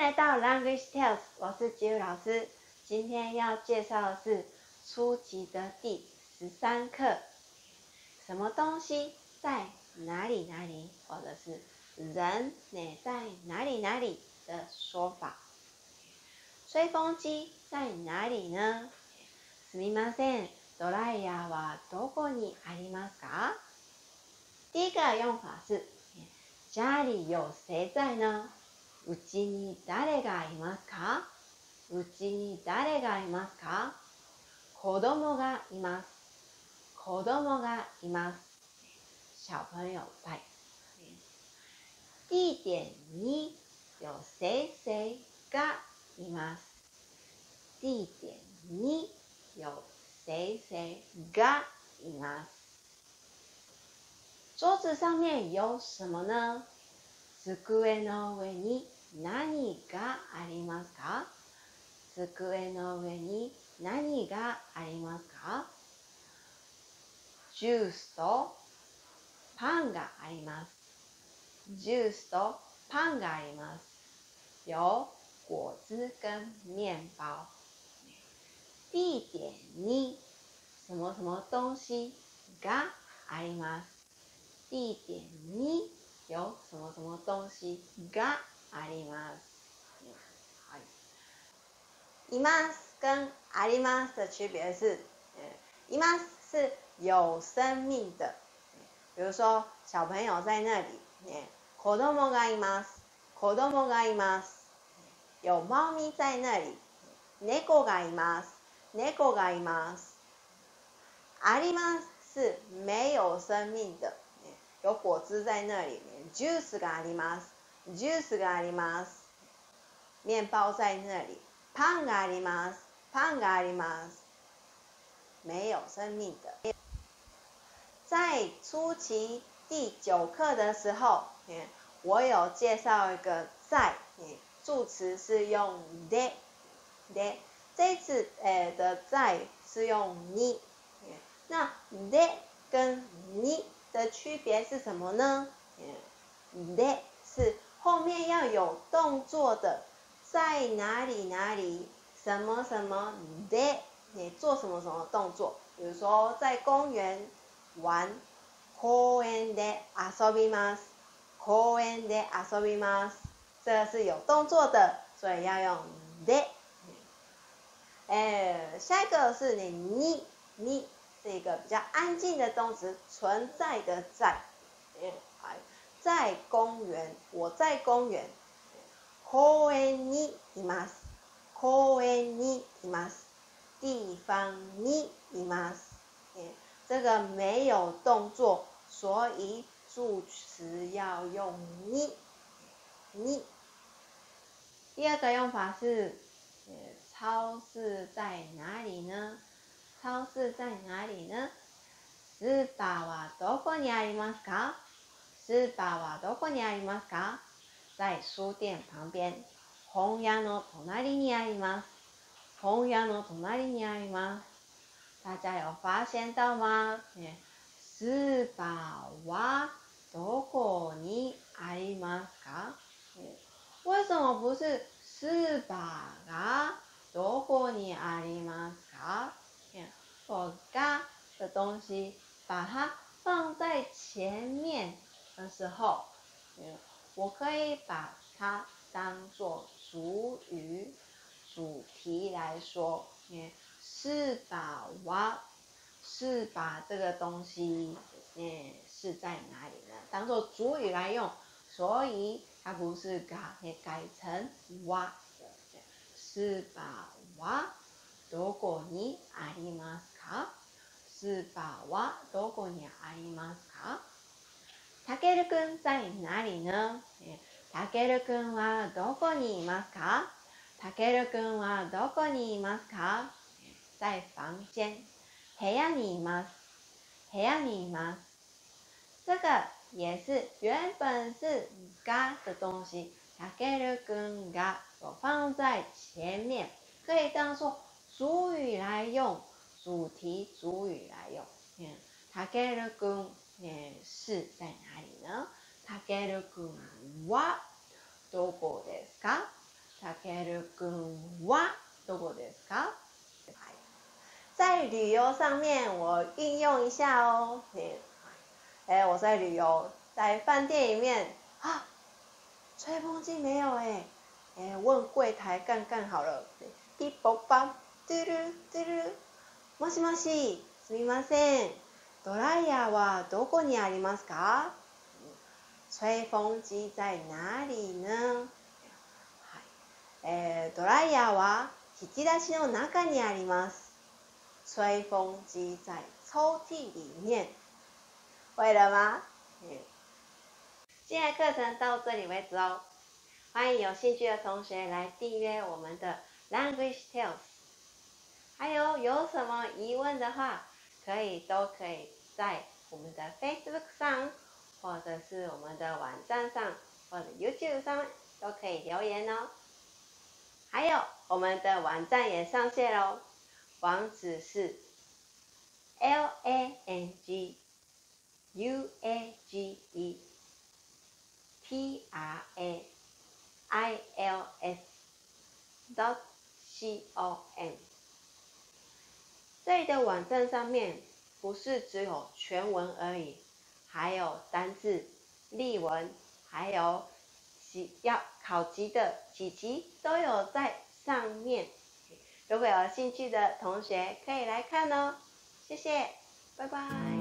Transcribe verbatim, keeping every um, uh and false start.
来到 Language Tales， 我是吉宇老师。今天要介绍的是初级的第十三课，什么东西在哪里哪里，或者是人呢在哪里哪里的说法。吹风机在哪里呢？すみません、ドライヤーはどこにありますか？第一个用法是家里有谁在呢？うちに誰がいますか？うちに誰がいますか？子供がいます。子供がいます。小朋友在。地点に有谁谁がいます。地点に有谁谁がいます。桌子上面有什么呢？机の上に何がありますか？机の上に何がありますか？ジュースとパンがあります。ジュースとパンがあります。有果汁跟面包。地点に什么什么东西があります。地点に有什么什么东西があります。います跟あります的区别是，います是有生命的，比如说小朋友在那里，子供がいます。子供がいます。有猫咪在那里，猫がいます。猫がいます。あります是没有生命的。有果汁在那里面，ジュースがあります。ジュースがあります。面包在那里，パンがあります。パンがあります。没有生命的。在初期第九课的时候，我有介绍一个在，助词是用でで，这次的在是用に。那で跟に的区别是什么呢？で是后面要有动作的，在哪里哪里，什么什么で，你做什么什么动作？比如说在公园玩，公園で遊びます。公園で遊びます。这个是有动作的，所以要用で。哎，下一个是你にに。是一个比较安静的动词，存在的在。在公园，我在公园。公園にいます。公園にいます。地方にいます。这个没有动作，所以助词要用に。に。第二个用法是，超市在哪里呢？超市在哪里呢？スーパーはどこにありますか？スーパーはどこにありますか？在书店旁边。本屋の隣にあります。本屋の隣にあります。大家有发现到吗？スーパーはどこにありますか？为什么不是スーパーがどこにありますか？我が的东西，把它放在前面的时候，我可以把它当作主语、主题来说。是把哇，是把这个东西，是在哪里呢？当作主语来用，所以它不是嘎，也改成哇。是把哇。どこにありますか？スーパーはどこにありますか？たけるくん在哪里呢？たけるくんはどこにいますか？たけるくんはどこにいますか？在房间。部屋にいます。部屋にいます。这个也是原本是が的东西，たけるくんが我放在前面，可以当作主语来用，主题主语来用。たけるくん是在哪里呢？たけるくんはどこですか？ たけるくんはどこですか？在旅游上面，我运用一下哦。哎，我在旅游，在饭店里面啊，吹风机没有哎，哎，问柜台干干好了。ピポパ、嘟噜嘟噜，もしもし、すみません。ドライヤーはどこにありますか？吹风机在哪里呢？えー、ドライヤーは引き出しの中にあります。吹风机在抽屉里面。会了吗？嗯，今天的课程到这里为止哦。欢迎有兴趣的同学来订阅我们的 Language Tales。还有有什么疑问的话，可以都可以在我们的 Facebook 上，或者是我们的网站上，或者 YouTube 上都可以留言哦。还有我们的网站也上线喽，网址是 L A N G U A G E T R A I L S dot com。这里的网站上面不是只有全文而已，还有单字、例文，还有要考级的几级都有在上面。如果有兴趣的同学可以来看哦。谢谢，拜拜。